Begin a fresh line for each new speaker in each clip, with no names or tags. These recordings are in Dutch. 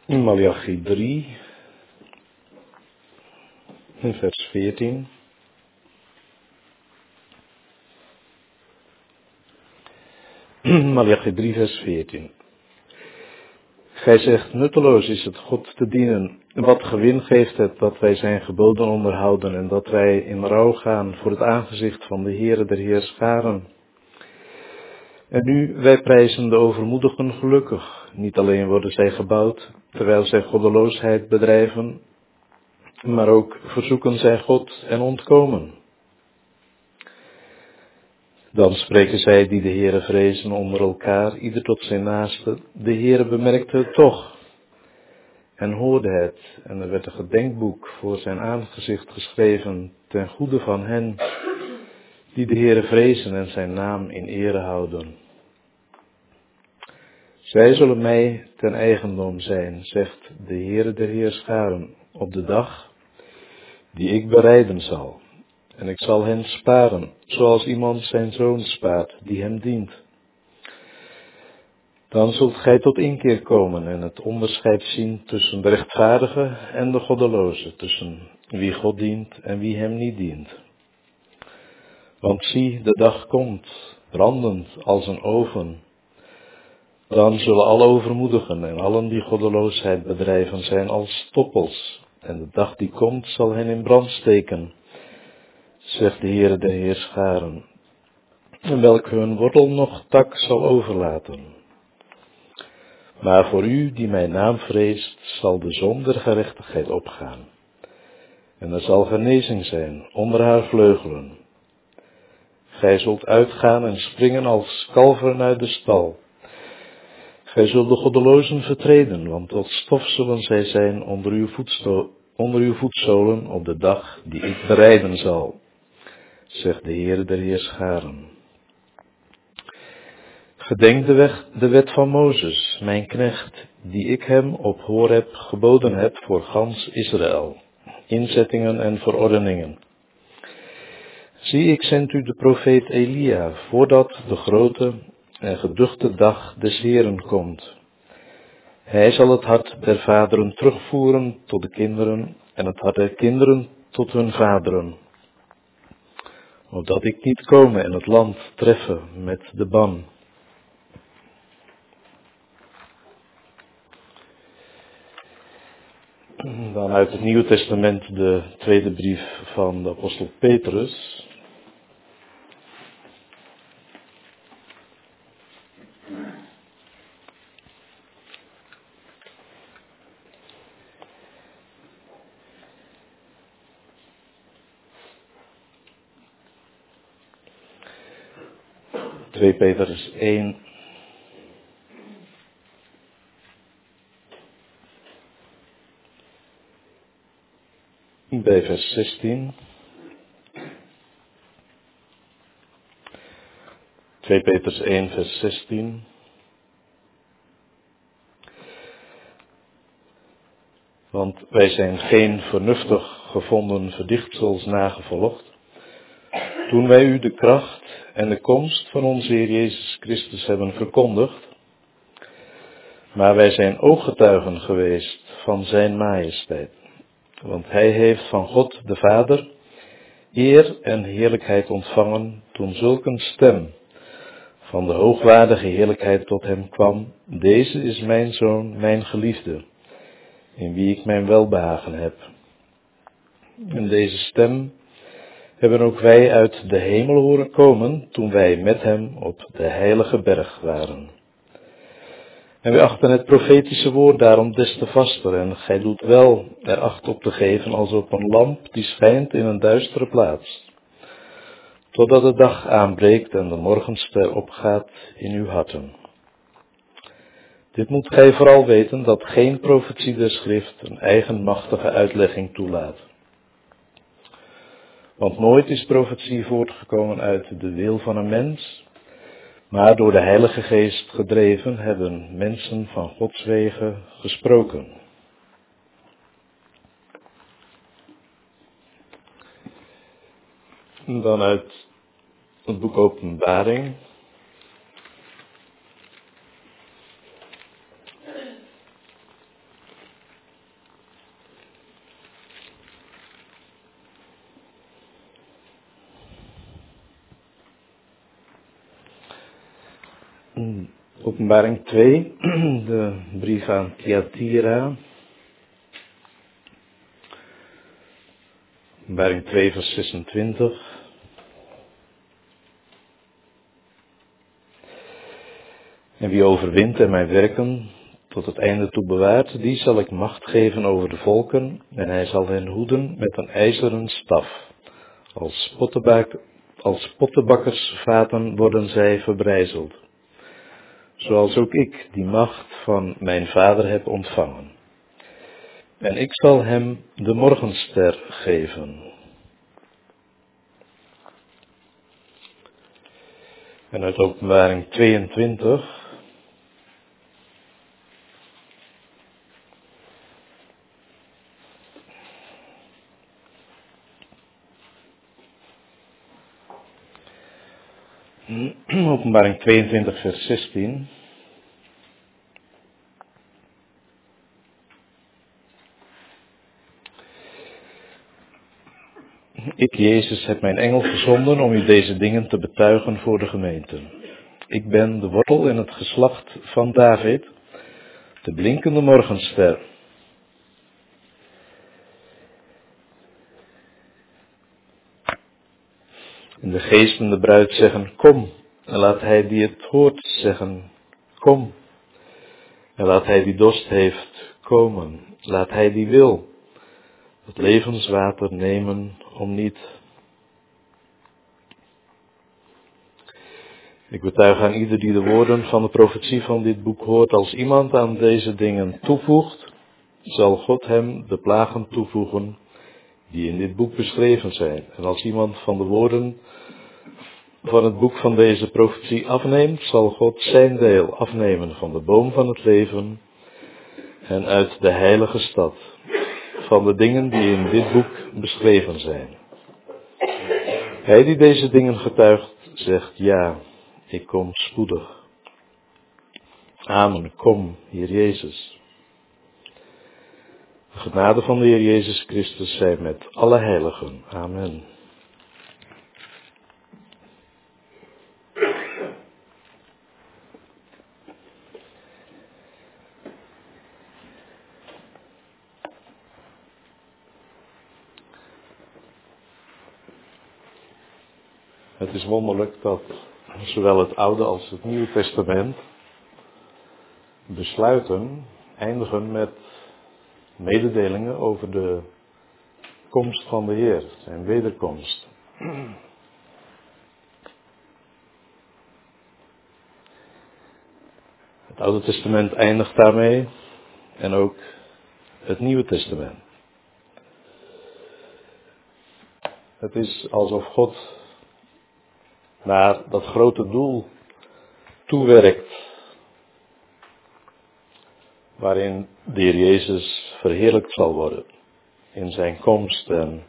Maleachi 3, vers 14. Maleachi 3, vers 14. Gij zegt, nutteloos is het God te dienen. Wat gewin geeft het dat wij zijn geboden onderhouden en dat wij in rouw gaan voor het aangezicht van de Heere der Heerscharen. En nu, wij prijzen de overmoedigen gelukkig. Niet alleen worden zij gebouwd, terwijl zij goddeloosheid bedrijven, maar ook verzoeken zij God en ontkomen. Dan spreken zij die de Heere vrezen onder elkaar, ieder tot zijn naaste. De Heere bemerkte het toch en hoorde het. En er werd een gedenkboek voor zijn aangezicht geschreven ten goede van hen die de Heere vrezen en zijn naam in ere houden. Zij zullen mij ten eigendom zijn, zegt de Heere der Heerscharen, op de dag die ik bereiden zal. En ik zal hen sparen, zoals iemand zijn zoon spaart, die hem dient. Dan zult gij tot inkeer komen en het onderscheid zien tussen de rechtvaardige en de goddeloze, tussen wie God dient en wie hem niet dient. Want zie, de dag komt, brandend als een oven. Dan zullen alle overmoedigen en allen die goddeloosheid bedrijven zijn als stoppels. En de dag die komt zal hen in brand steken, zegt de Heere der Heerscharen, en welke hun wortel nog tak zal overlaten. Maar voor u die mijn naam vreest, zal de zon der gerechtigheid opgaan. En er zal genezing zijn onder haar vleugelen. Gij zult uitgaan en springen als kalveren uit de stal. Gij zult de goddelozen vertreden, want tot stof zullen zij zijn onder uw voetzolen op de dag die ik bereiden zal, zegt de Heere der Heerscharen. Gedenk de wet van Mozes, mijn knecht, die ik hem op Horeb geboden heb voor gans Israël, inzettingen en verordeningen. Zie, ik zend u de profeet Elia, voordat de grote en geduchte dag des Heeren komt. Hij zal het hart der vaderen terugvoeren tot de kinderen en het hart der kinderen tot hun vaderen, opdat ik niet komen en het land treffen met de ban. Dan uit het Nieuwe Testament de tweede brief van de apostel Petrus. Twee Petrus 1. Bij vers 16. 2 Petrus 1 vers 16. Want wij zijn geen vernuftig gevonden verdichtsels nagevolgd, toen wij u de kracht en de komst van onze Heer Jezus Christus hebben verkondigd, maar wij zijn ooggetuigen geweest van zijn majesteit. Want hij heeft van God de Vader eer en heerlijkheid ontvangen toen zulk een stem van de hoogwaardige heerlijkheid tot hem kwam. Deze is mijn zoon, mijn geliefde, in wie ik mijn welbehagen heb. En deze stem hebben ook wij uit de hemel horen komen toen wij met hem op de heilige berg waren. En wij achten het profetische woord daarom des te vaster, en gij doet wel er acht op te geven als op een lamp die schijnt in een duistere plaats, totdat de dag aanbreekt en de morgenster opgaat in uw harten. Dit moet gij vooral weten, dat geen profetie der schrift een eigenmachtige uitlegging toelaat. Want nooit is profetie voortgekomen uit de wil van een mens, maar door de Heilige Geest gedreven hebben mensen van Gods wegen gesproken. Dan uit het boek Openbaring. Openbaring 2, de brief aan Thyatira. Openbaring 2 vers 26. En wie overwint en mijn werken tot het einde toe bewaart, die zal ik macht geven over de volken, en hij zal hen hoeden met een ijzeren staf. Als pottebakkersvaten worden zij verbrijzeld. Zoals ook ik die macht van mijn vader heb ontvangen. En ik zal hem de morgenster geven. En uit Openbaring 22. Openbaring 22 vers 16. Ik, Jezus, heb mijn engel gezonden om u deze dingen te betuigen voor de gemeenten. Ik ben de wortel en het geslacht van David, de blinkende morgenster. En de geest en de bruid zeggen, kom. En laat hij die het hoort zeggen, kom. En laat hij die dorst heeft komen. Laat hij die wil het levenswater nemen om niet. Ik betuig aan ieder die de woorden van de profetie van dit boek hoort, als iemand aan deze dingen toevoegt, zal God hem de plagen toevoegen die in dit boek beschreven zijn. En als iemand van de woorden van het boek van deze profetie afneemt, zal God zijn deel afnemen van de boom van het leven en uit de heilige stad, van de dingen die in dit boek beschreven zijn. Hij die deze dingen getuigt, zegt ja, ik kom spoedig. Amen, kom, Heer Jezus. De genade van de Heer Jezus Christus zij met alle heiligen. Amen. Het is wonderlijk dat zowel het Oude als het Nieuwe Testament besluiten eindigen met mededelingen over de komst van de Heer, zijn wederkomst. Het Oude Testament eindigt daarmee en ook het Nieuwe Testament. Het is alsof God naar dat grote doel toewerkt, waarin de Heer Jezus verheerlijkt zal worden in zijn komst en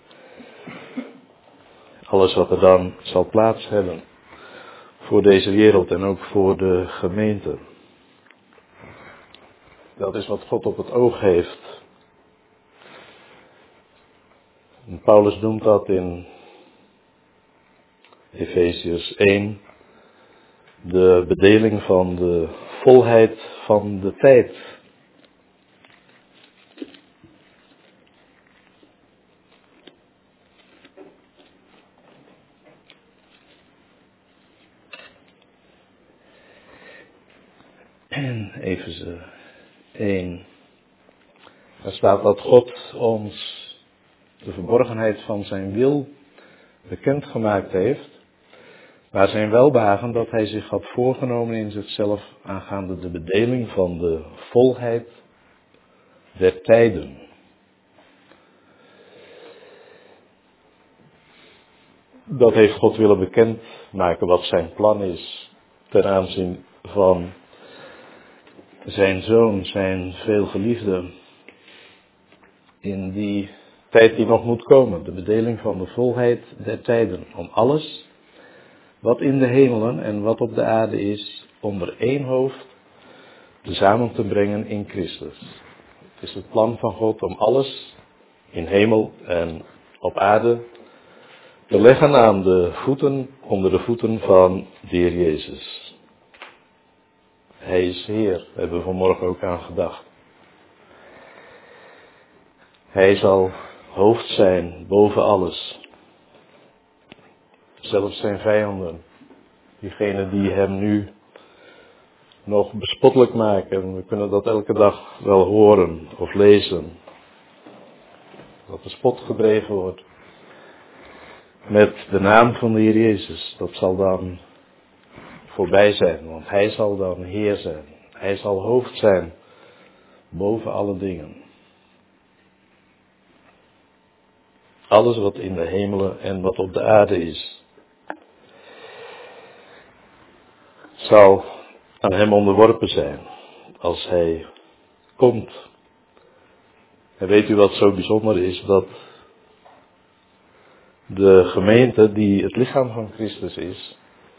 alles wat er dan zal plaats hebben voor deze wereld en ook voor de gemeente. Dat is wat God op het oog heeft. En Paulus noemt dat in Efeziërs 1 de bedeling van de volheid van de tijd. En Efeze 1. Daar staat dat God ons de verborgenheid van zijn wil bekendgemaakt heeft, maar zijn welbehagen dat hij zich had voorgenomen in zichzelf aangaande de bedeling van de volheid der tijden. Dat heeft God willen bekendmaken wat zijn plan is ten aanzien van zijn zoon, zijn veelgeliefde, in die tijd die nog moet komen, de bedeling van de volheid der tijden, om alles wat in de hemelen en wat op de aarde is, onder één hoofd samen te brengen in Christus. Het is het plan van God om alles in hemel en op aarde te leggen aan de voeten, onder de voeten van de Heer Jezus. Hij is Heer, daar hebben we vanmorgen ook aan gedacht. Hij zal hoofd zijn boven alles. Zelfs zijn vijanden, diegenen die hem nu nog bespottelijk maken. We kunnen dat elke dag wel horen of lezen. Dat de spot gedreven wordt met de naam van de Heer Jezus. Dat zal dan voorbij zijn, want hij zal dan Heer zijn. Hij zal hoofd zijn boven alle dingen. Alles wat in de hemelen en wat op de aarde is, zal aan hem onderworpen zijn als hij komt. En weet u wat zo bijzonder is? Dat de gemeente die het lichaam van Christus is,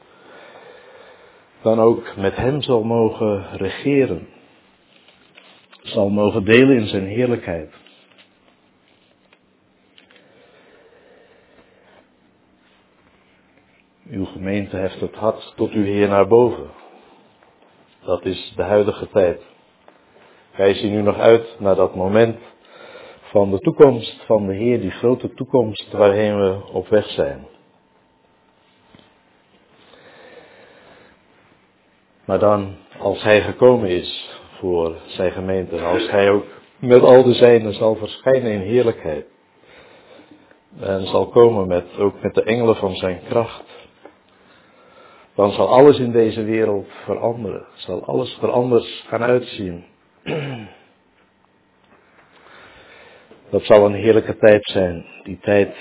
dan ook met hem zal mogen regeren. Zal mogen delen in zijn heerlijkheid. Uw gemeente heft het hart tot uw Heer naar boven. Dat is de huidige tijd. Wij zien nu nog uit naar dat moment van de toekomst van de Heer, die grote toekomst waarheen we op weg zijn. Maar dan, als hij gekomen is voor zijn gemeente, als hij ook met al de zijnen zal verschijnen in heerlijkheid, en zal komen ook met de engelen van zijn kracht, dan zal alles in deze wereld veranderen. Zal alles er anders gaan uitzien. Dat zal een heerlijke tijd zijn. Die tijd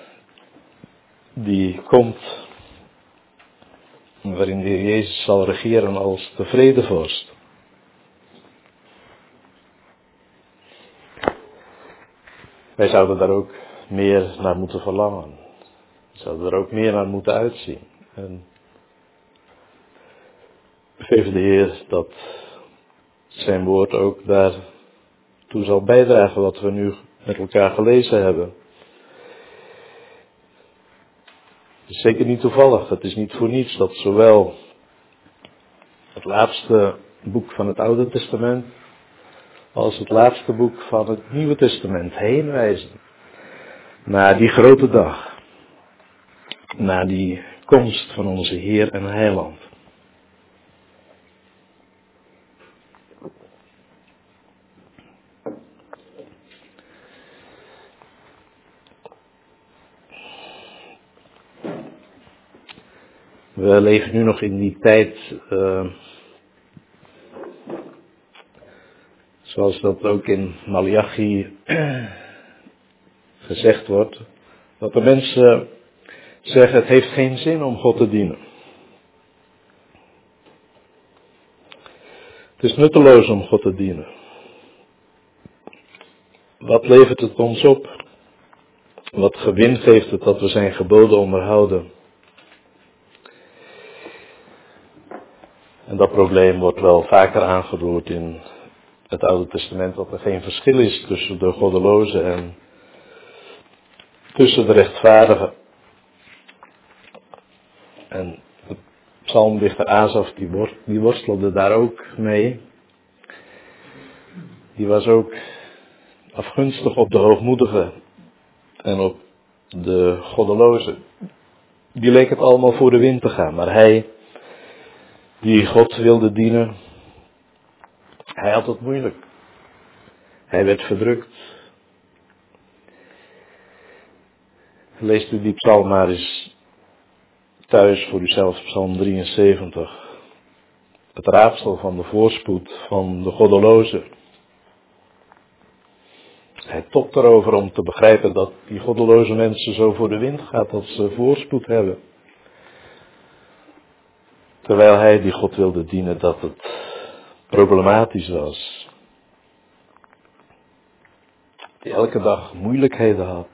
die komt, waarin de Heer Jezus zal regeren als de vredevorst. Wij zouden daar ook meer naar moeten verlangen. We zouden er ook meer naar moeten uitzien. En geef de Heer dat zijn woord ook daartoe zal bijdragen wat we nu met elkaar gelezen hebben. Het is zeker niet toevallig, het is niet voor niets dat zowel het laatste boek van het Oude Testament als het laatste boek van het Nieuwe Testament heen wijzen naar die grote dag, naar die komst van onze Heer en Heiland. We leven nu nog in die tijd, zoals dat ook in Malachi gezegd wordt, dat de mensen zeggen: het heeft geen zin om God te dienen. Het is nutteloos om God te dienen. Wat levert het ons op? Wat gewin geeft het dat we zijn geboden onderhouden? En dat probleem wordt wel vaker aangeroerd in het Oude Testament, dat er geen verschil is tussen de goddelozen en tussen de rechtvaardigen. En de psalmdichter Asaf, die worstelde daar ook mee. Die was ook afgunstig op de hoogmoedigen en op de goddelozen. Die leek het allemaal voor de wind te gaan, maar hij die God wilde dienen, hij had het moeilijk. Hij werd verdrukt. Leest u die psalm maar eens thuis voor uzelf, psalm 73. Het raadsel van de voorspoed van de goddelozen. Hij topt erover om te begrijpen dat die goddeloze mensen zo voor de wind gaat, dat ze voorspoed hebben. Terwijl hij die God wilde dienen, dat het problematisch was. Die elke dag moeilijkheden had.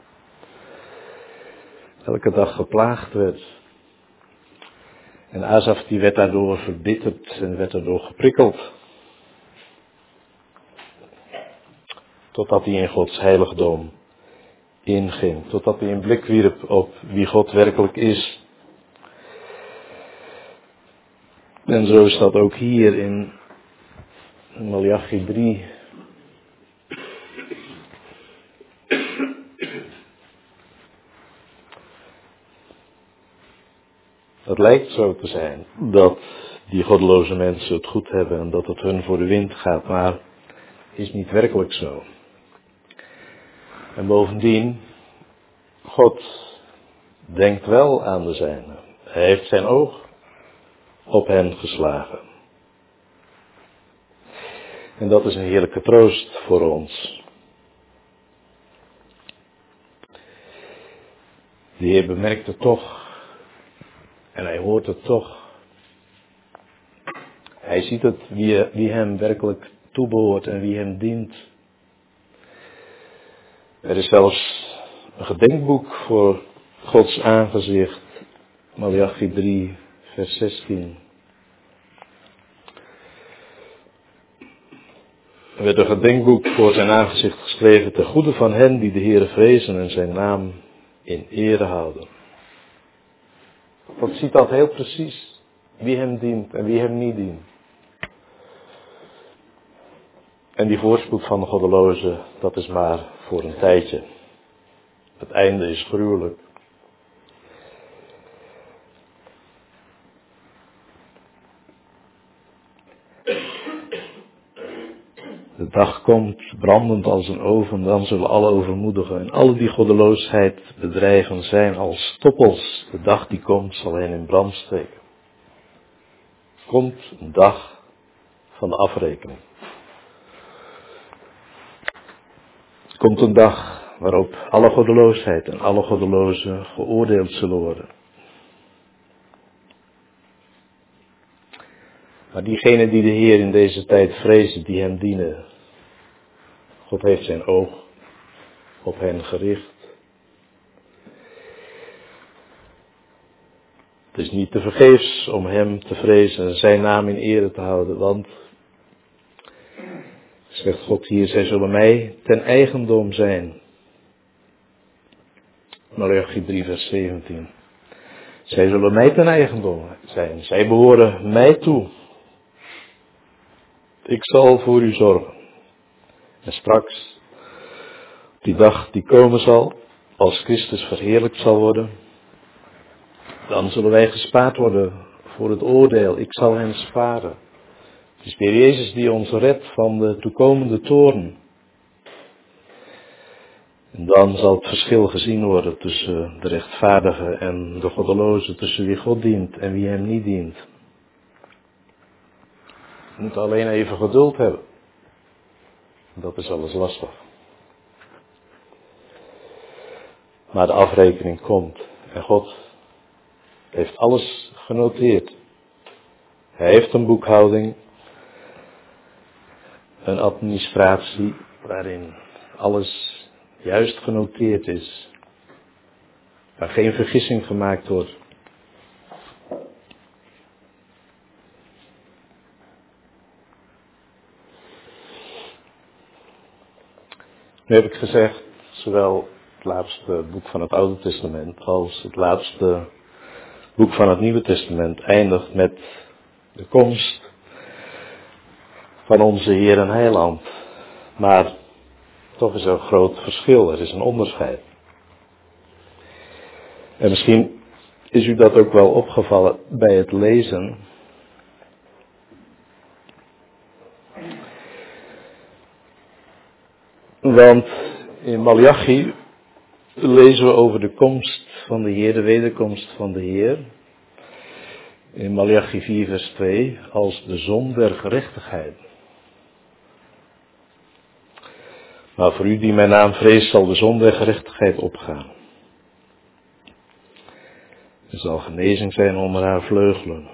Elke dag geplaagd werd. En Asaf die werd daardoor verbitterd en werd daardoor geprikkeld. Totdat hij in Gods heiligdom inging. Totdat hij een blik wierp op wie God werkelijk is. En zo is dat ook hier in Maleachi 3. Het lijkt zo te zijn dat die goddeloze mensen het goed hebben en dat het hun voor de wind gaat, maar is niet werkelijk zo. En bovendien, God denkt wel aan de zijnen. Hij heeft zijn oog op hen geslagen. En dat is een heerlijke troost voor ons. De Heer bemerkt het toch en hij hoort het toch. Hij ziet het wie hem werkelijk toebehoort en wie hem dient. Er is zelfs een gedenkboek voor Gods aangezicht. Maleachi 3, vers 16. Er werd een gedenkboek voor zijn aangezicht geschreven ten goede van hen die de Heere vrezen en zijn naam in ere houden. God ziet dat heel precies, wie hem dient en wie hem niet dient. En die voorspoed van de goddeloze, dat is maar voor een tijdje. Het einde is gruwelijk. De dag komt, brandend als een oven, dan zullen alle overmoedigen en alle die goddeloosheid bedrijven zijn als stoppels. De dag die komt zal hen in brand steken. Komt een dag van de afrekening. Komt een dag waarop alle goddeloosheid en alle goddelozen geoordeeld zullen worden. Maar diegenen die de Heer in deze tijd vrezen, die hem dienen, God heeft zijn oog op hen gericht. Het is niet te vergeefs om hem te vrezen en zijn naam in ere te houden, want, zegt God hier, zij zullen mij ten eigendom zijn. Maleachi 3 vers 17. Zij zullen mij ten eigendom zijn, zij behoren mij toe. Ik zal voor u zorgen. En straks, op die dag die komen zal, als Christus verheerlijkt zal worden, dan zullen wij gespaard worden voor het oordeel. Ik zal hen sparen. Het is de Heer Jezus die ons redt van de toekomende toorn. En dan zal het verschil gezien worden tussen de rechtvaardige en de goddeloze, tussen wie God dient en wie hem niet dient. We moeten alleen even geduld hebben. Dat is alles lastig. Maar de afrekening komt en God heeft alles genoteerd. Hij heeft een boekhouding, een administratie waarin alles juist genoteerd is. Waar geen vergissing gemaakt wordt. Nu heb ik gezegd, zowel het laatste boek van het Oude Testament als het laatste boek van het Nieuwe Testament eindigt met de komst van onze Heer en Heiland. Maar toch is er een groot verschil, er is een onderscheid. En misschien is u dat ook wel opgevallen bij het lezen. Want in Maleachi lezen we over de komst van de Heer, de wederkomst van de Heer. In Maleachi 4 vers 2 als de zon der gerechtigheid. Maar voor u die mijn naam vreest zal de zon der gerechtigheid opgaan. Er zal genezing zijn onder haar vleugelen.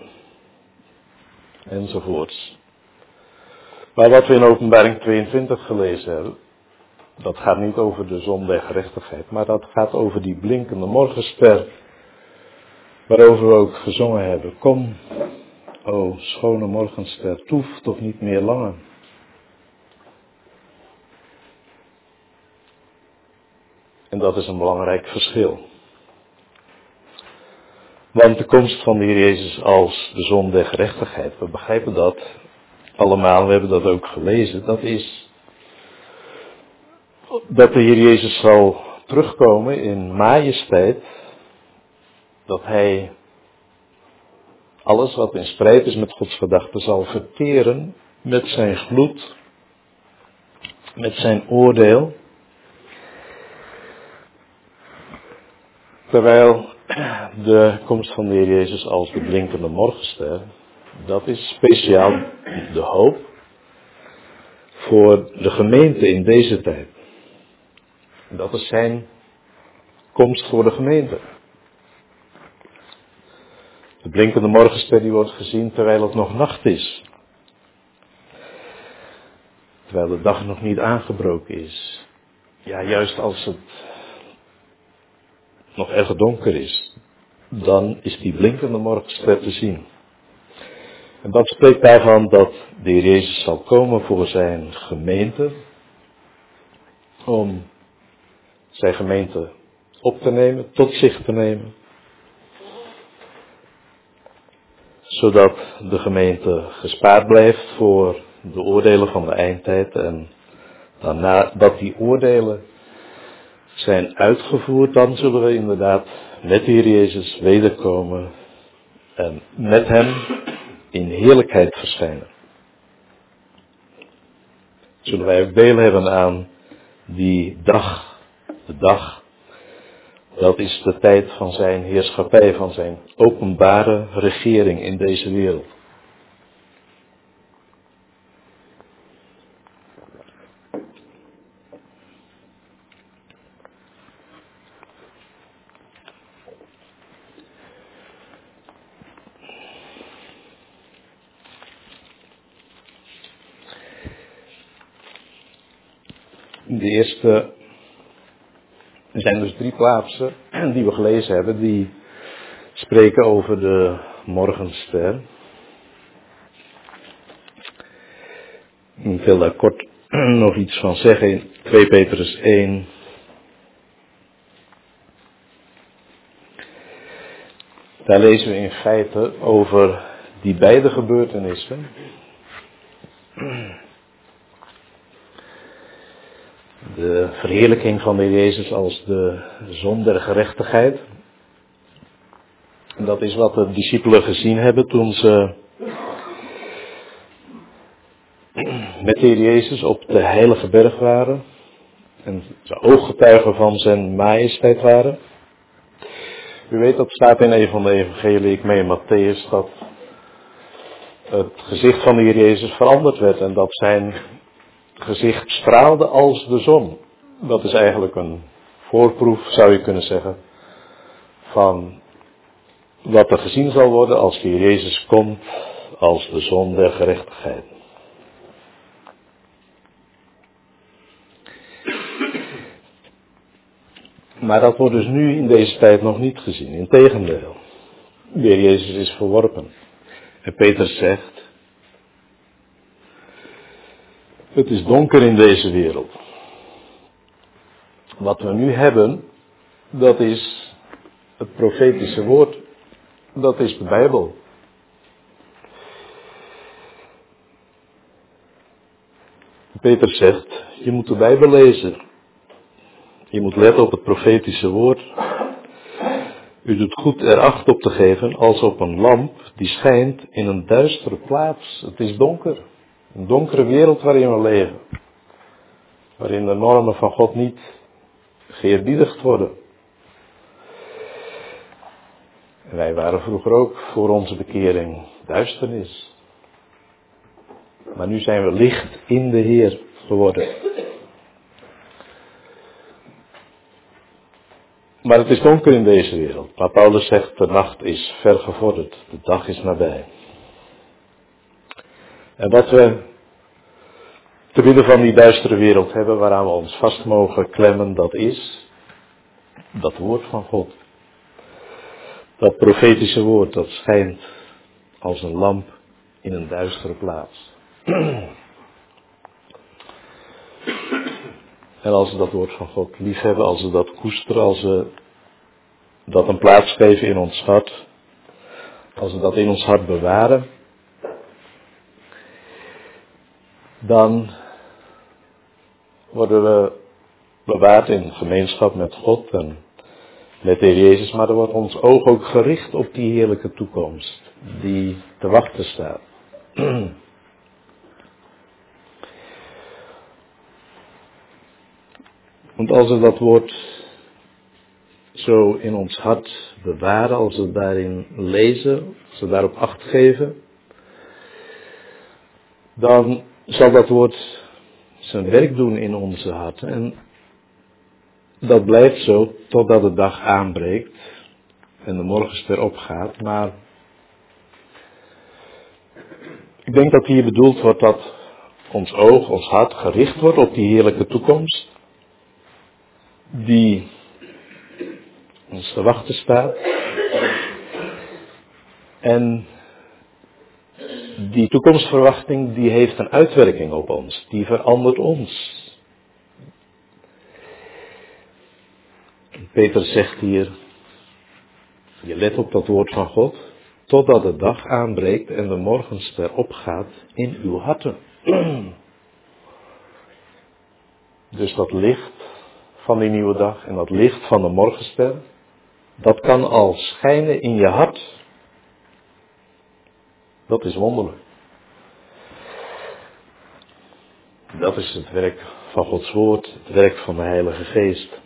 Enzovoorts. Maar wat we in Openbaring 22 gelezen hebben, dat gaat niet over de zon der gerechtigheid, maar dat gaat over die blinkende morgenster, waarover we ook gezongen hebben. Kom, o schone morgenster, toef toch niet meer langer. En dat is een belangrijk verschil. Want de komst van de Heer Jezus als de zon der gerechtigheid, we begrijpen dat allemaal, we hebben dat ook gelezen, dat is dat de Heer Jezus zal terugkomen in majesteit, dat Hij alles wat in strijd is met Gods gedachten zal verteren met zijn gloed, met zijn oordeel. Terwijl de komst van de Heer Jezus als de blinkende morgenster, dat is speciaal de hoop voor de gemeente in deze tijd. Dat is zijn komst voor de gemeente. De blinkende morgenster die wordt gezien terwijl het nog nacht is. Terwijl de dag nog niet aangebroken is. Ja, juist als het nog erg donker is, dan is die blinkende morgenster te zien. En dat spreekt daarvan dat de Heer Jezus zal komen voor zijn gemeente, om zijn gemeente op te nemen, tot zich te nemen, zodat de gemeente gespaard blijft voor de oordelen van de eindtijd en daarna dat die oordelen zijn uitgevoerd, dan zullen we inderdaad met de Heer Jezus wederkomen en met hem in heerlijkheid verschijnen. Zullen wij ook deel hebben aan die dag, de dag, dat is de tijd van zijn heerschappij, van zijn openbare regering in deze wereld. Er zijn dus 3 plaatsen die we gelezen hebben, die spreken over de morgenster. Ik wil daar kort nog iets van zeggen in 2 Petrus 1. Daar lezen we in feite over die beide gebeurtenissen. De verheerlijking van de Heer Jezus als de zon der gerechtigheid. En dat is wat de discipelen gezien hebben toen ze met de Heer Jezus op de heilige berg waren. En ze ooggetuigen van zijn majesteit waren. U weet, dat staat in een van de evangelie, ik meen Matthäus, dat het gezicht van de Heer Jezus veranderd werd. En dat zijn gezicht straalde als de zon. Dat is eigenlijk een voorproef, zou je kunnen zeggen, van wat er gezien zal worden als de Heer Jezus komt als de zon der gerechtigheid. Maar dat wordt dus nu in deze tijd nog niet gezien. Integendeel, de Heer Jezus is verworpen. En Petrus zegt, het is donker in deze wereld. Wat we nu hebben, dat is het profetische woord. Dat is de Bijbel. Petrus zegt, je moet de Bijbel lezen. Je moet letten op het profetische woord. U doet goed er acht op te geven als op een lamp die schijnt in een duistere plaats. Het is donker. Een donkere wereld waarin we leven. Waarin de normen van God niet geëerbiedigd worden. En wij waren vroeger ook voor onze bekering duisternis. Maar nu zijn we licht in de Heer geworden. Maar het is donker in deze wereld. Maar Paulus zegt, de nacht is ver gevorderd. De dag is nabij. En wat we te midden van die duistere wereld hebben, waaraan we ons vast mogen klemmen, dat is dat woord van God. Dat profetische woord, dat schijnt als een lamp in een duistere plaats. En als we dat woord van God liefhebben, als we dat koesteren, als we dat een plaats geven in ons hart, als we dat in ons hart bewaren, dan worden we bewaard in gemeenschap met God en met de Heer Jezus, maar er wordt ons oog ook gericht op die heerlijke toekomst die te wachten staat. Want als we dat woord zo in ons hart bewaren, als we daarin lezen, als we daarop acht geven, dan zal dat woord zijn werk doen in onze harten. En dat blijft zo totdat de dag aanbreekt en de morgenster opgaat. Maar ik denk dat hier bedoeld wordt dat ons oog, ons hart gericht wordt op die heerlijke toekomst die ons te wachten staat. En die toekomstverwachting die heeft een uitwerking op ons, die verandert ons. Petrus zegt hier, je let op dat woord van God, totdat de dag aanbreekt en de morgenster opgaat in uw harten. Dus dat licht van die nieuwe dag en dat licht van de morgenster, dat kan al schijnen in je hart. Dat is wonderlijk. Dat is het werk van Gods woord, het werk van de Heilige Geest.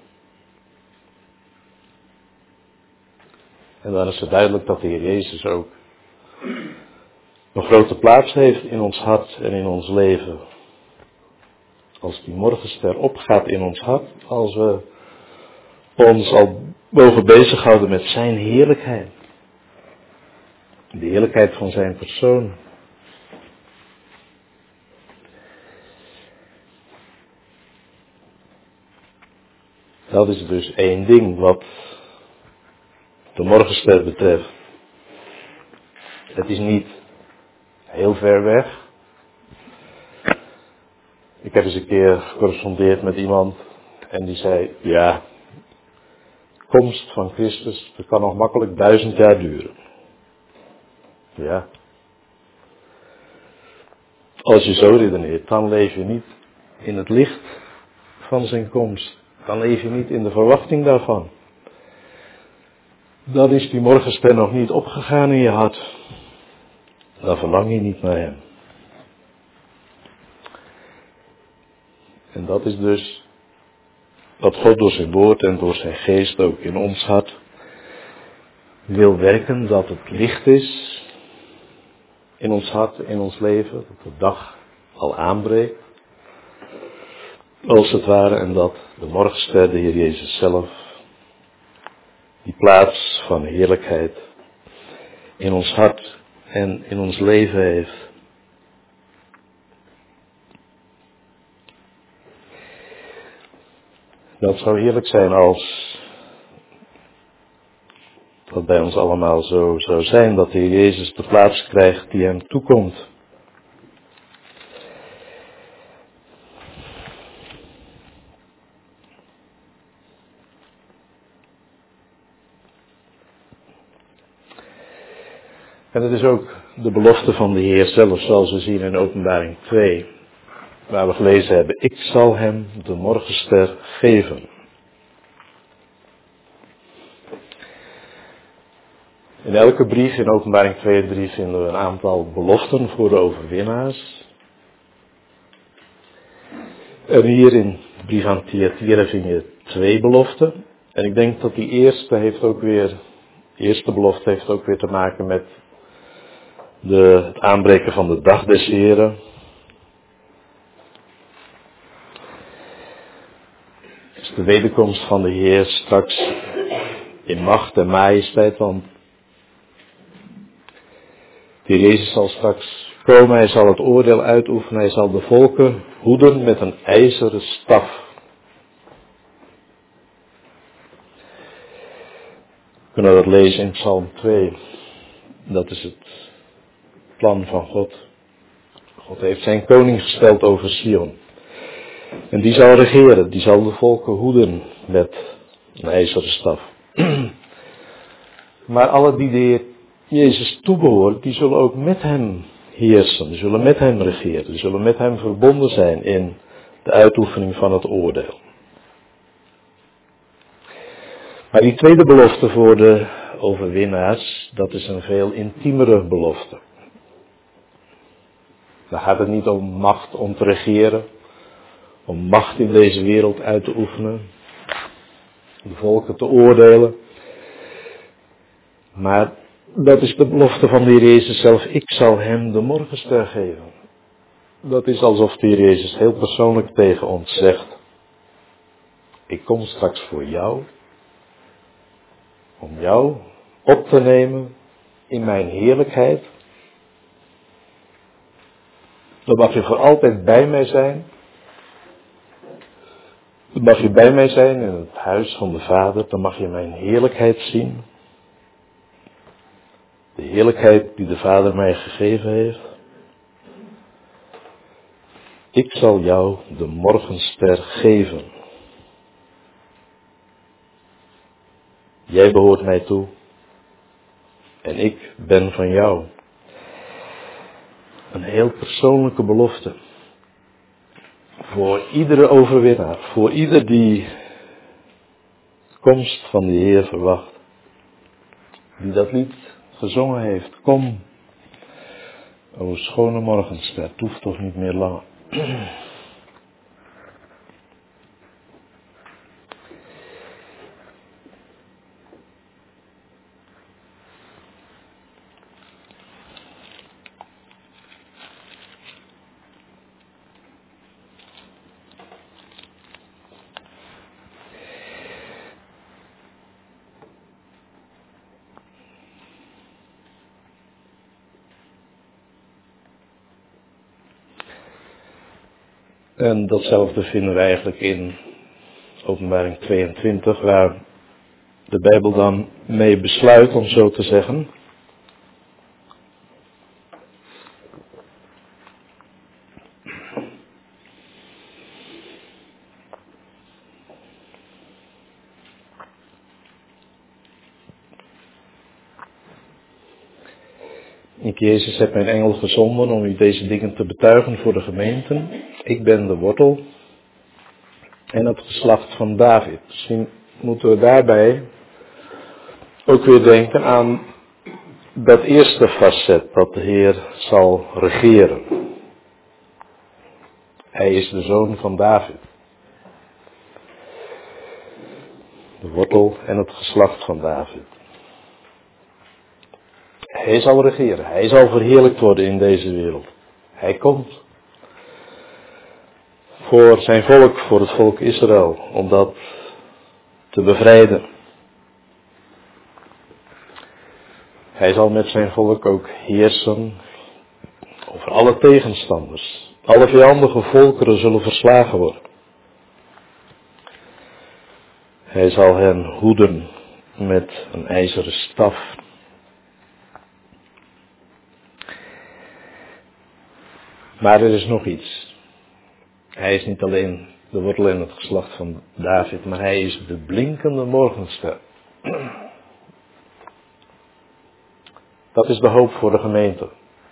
En dan is het duidelijk dat de Heer Jezus ook een grote plaats heeft in ons hart en in ons leven. Als die morgenster opgaat in ons hart, als we ons al mogen bezighouden met zijn heerlijkheid. De heerlijkheid van zijn persoon. Dat is dus één ding wat de morgenster betreft. Het is niet heel ver weg. Ik heb eens een keer gecorrespondeerd met iemand en die zei, ja, de komst van Christus, dat kan nog makkelijk 1000 jaar duren. Ja. Als je zo redeneert, dan leef je niet in het licht van zijn komst. Dan leef je niet in de verwachting daarvan. Dan is die morgenster nog niet opgegaan in je hart. Dan verlang je niet naar hem. En dat is dus wat God door zijn woord en door zijn geest ook in ons hart wil werken, dat het licht is in ons hart, in ons leven, dat de dag al aanbreekt, als het ware, en dat de morgenster, de Heer Jezus zelf, die plaats van heerlijkheid in ons hart en in ons leven heeft. Dat zou heerlijk zijn als dat bij ons allemaal zo zou zijn, dat de Heer Jezus de plaats krijgt die hem toekomt. En het is ook de belofte van de Heer zelf, zoals we zien in Openbaring 2, waar we gelezen hebben, ik zal hem de morgenster geven. In elke brief in Openbaring 2 en 3 vinden we een aantal beloften voor de overwinnaars. En hier in de brief aan Thyatira vind je 2 beloften. En ik denk dat die eerste belofte heeft ook weer te maken met het aanbreken van de dag des Heren. Dus de wederkomst van de Heer straks in macht en majesteit, want de Heer Jezus zal straks komen, hij zal het oordeel uitoefenen, hij zal de volken hoeden met een ijzeren staf. We kunnen dat lezen in Psalm 2. Dat is het plan van God. God heeft zijn koning gesteld over Sion. En die zal regeren, die zal de volken hoeden met een ijzeren staf. Maar alle die de Heer Jezus toebehoort, die zullen ook met hem heersen, die zullen met hem regeren, die zullen met hem verbonden zijn in de uitoefening van het oordeel. Maar die tweede belofte voor de overwinnaars, dat is een veel intiemere belofte. Dan gaat het niet om macht om te regeren, om macht in deze wereld uit te oefenen, de volken te oordelen. Maar dat is de belofte van de Heer Jezus zelf. Ik zal hem de morgenster geven. Dat is alsof de Heer Jezus heel persoonlijk tegen ons zegt. Ik kom straks voor jou. Om jou op te nemen in mijn heerlijkheid. Dan mag je voor altijd bij mij zijn. Dan mag je bij mij zijn in het huis van de Vader. Dan mag je mijn heerlijkheid zien. De heerlijkheid die de Vader mij gegeven heeft. Ik zal jou de morgenster geven. Jij behoort mij toe. En ik ben van jou. Een heel persoonlijke belofte. Voor iedere overwinnaar. Voor ieder die de komst van de Heer verwacht. Die dat lied gezongen heeft. Kom, o schone morgenster, het hoeft toch niet meer lang. En datzelfde vinden we eigenlijk in Openbaring 22, waar de Bijbel dan mee besluit, om zo te zeggen. Ik, Jezus, heb mijn engel gezonden om u deze dingen te betuigen voor de gemeenten. Ik ben de wortel en het geslacht van David. Misschien moeten we daarbij ook weer denken aan dat eerste facet, dat de Heer zal regeren. Hij is de zoon van David. De wortel en het geslacht van David. Hij zal regeren. Hij zal verheerlijkt worden in deze wereld. Hij komt voor zijn volk, voor het volk Israël, om dat te bevrijden. Hij zal met zijn volk ook heersen over alle tegenstanders. Alle vijandige volkeren zullen verslagen worden. Hij zal hen hoeden met een ijzeren staf. Maar er is nog iets. Hij is niet alleen de wortel en het geslacht van David, maar hij is de blinkende morgenster. Dat is de hoop voor de gemeente.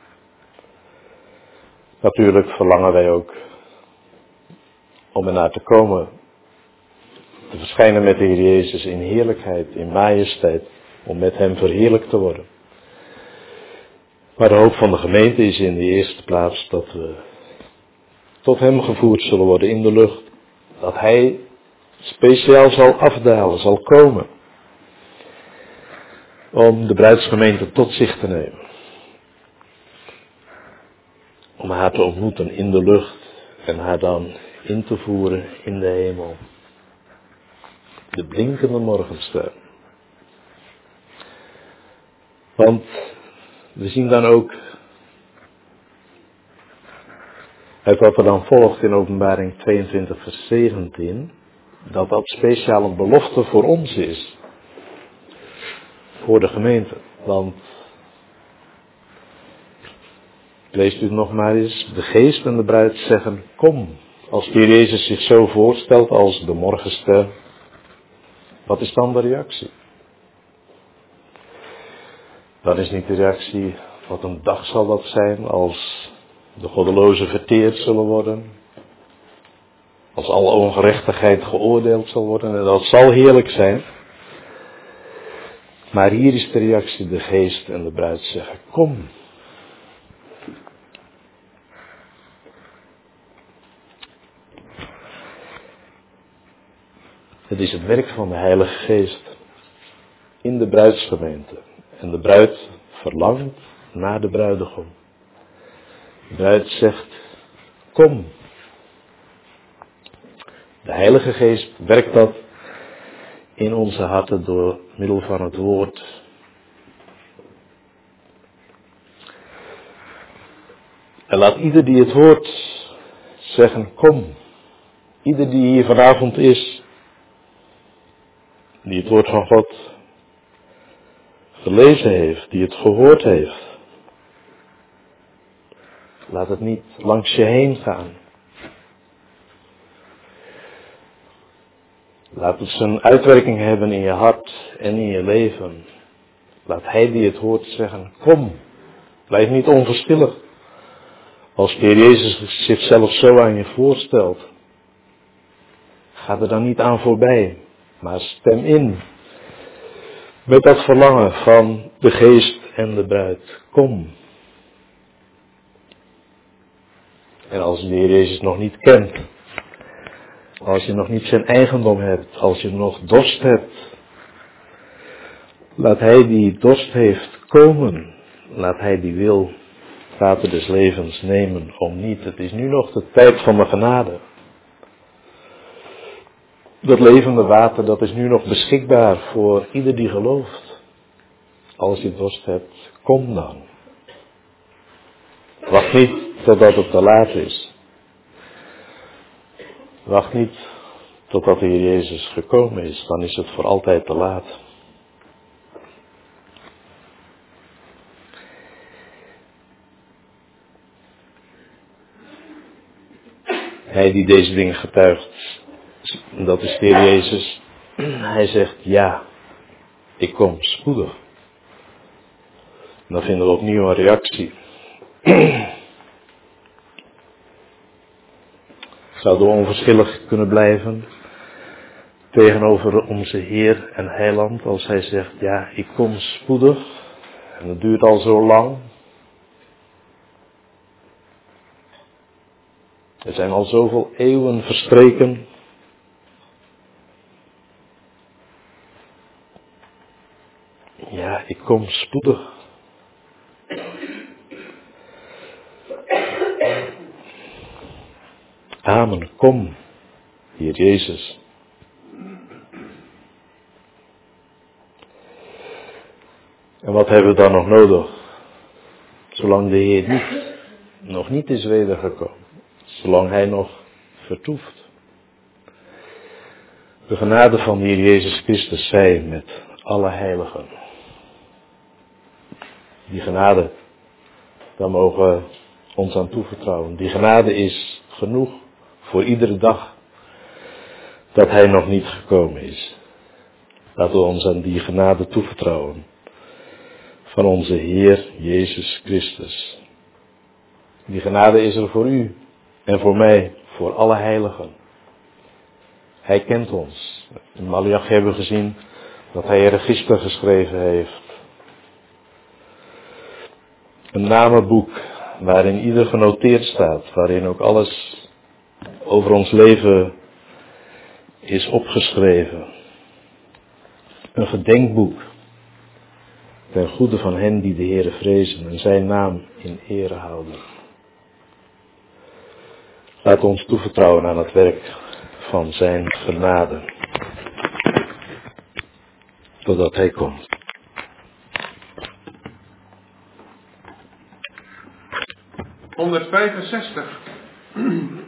Natuurlijk verlangen wij ook om ernaar te komen, te verschijnen met de Heer Jezus in heerlijkheid, in majesteit, om met hem verheerlijkt te worden. Maar de hoop van de gemeente is in de eerste plaats dat we tot hem gevoerd zullen worden in de lucht. Dat hij speciaal zal afdalen, zal komen. Om de bruidsgemeente tot zich te nemen. Om haar te ontmoeten in de lucht en haar dan in te voeren in de hemel. De blinkende morgenster. Want we zien dan ook uit wat er dan volgt in Openbaring 22 vers 17, dat dat speciaal een belofte voor ons is. Voor de gemeente. Want, leest u het nog maar eens, de geest en de bruid zeggen, kom. Als de Heer Jezus zich zo voorstelt als de morgenster, wat is dan de reactie? Dan is niet de reactie, wat een dag zal dat zijn als de goddelozen verteerd zullen worden. Als alle ongerechtigheid geoordeeld zal worden. En dat zal heerlijk zijn. Maar hier is de reactie, de geest en de bruid zeggen, kom. Het is het werk van de Heilige Geest in de bruidsgemeente. En de bruid verlangt naar de bruidegom. De bruid zegt, kom. De Heilige Geest werkt dat in onze harten door middel van het woord. En laat ieder die het hoort zeggen, kom. Ieder die hier vanavond is, die het woord van God gelezen heeft, die het gehoord heeft. Laat het niet langs je heen gaan. Laat het zijn uitwerking hebben in je hart en in je leven. Laat hij die het hoort zeggen, kom. Blijf niet onverschillig. Als de Heer Jezus zichzelf zo aan je voorstelt. Ga er dan niet aan voorbij. Maar stem in. Met dat verlangen van de geest en de bruid. Kom. En als je de Heer Jezus nog niet kent. Als je nog niet zijn eigendom hebt. Als je nog dorst hebt. Laat hij die dorst heeft komen. Laat hij die wil water des levens nemen. Om niet. Het is nu nog de tijd van de genade. Dat levende water, dat is nu nog beschikbaar voor ieder die gelooft. Als je dorst hebt, kom dan. Wacht niet totdat het te laat is. Wacht niet totdat de Heer Jezus gekomen is, dan is het voor altijd te laat. Hij die deze dingen getuigt, dat is de Heer Jezus. Hij zegt, ja, ik kom spoedig. En dan vinden we opnieuw een reactie. Zouden we onverschillig kunnen blijven tegenover onze Heer en Heiland als Hij zegt, ja, ik kom spoedig. En het duurt al zo lang. Er zijn al zoveel eeuwen verstreken. Ja, ik kom spoedig. Amen, kom, Heer Jezus. En wat hebben we dan nog nodig? Zolang de Heer nog niet is wedergekomen. Zolang Hij nog vertoeft. De genade van de Heer Jezus Christus zij met alle heiligen. Die genade, daar mogen we ons aan toevertrouwen. Die genade is genoeg voor iedere dag dat Hij nog niet gekomen is. Laten we ons aan die genade toevertrouwen van onze Heer Jezus Christus. Die genade is er voor u en voor mij, voor alle heiligen. Hij kent ons. In Malachi hebben we gezien dat Hij een register geschreven heeft. Een namenboek waarin ieder genoteerd staat, waarin ook alles over ons leven is opgeschreven. Een gedenkboek ten goede van hen die de Heere vrezen en zijn naam in ere houden. Laat ons toevertrouwen aan het werk van zijn genade, totdat Hij komt.
(165)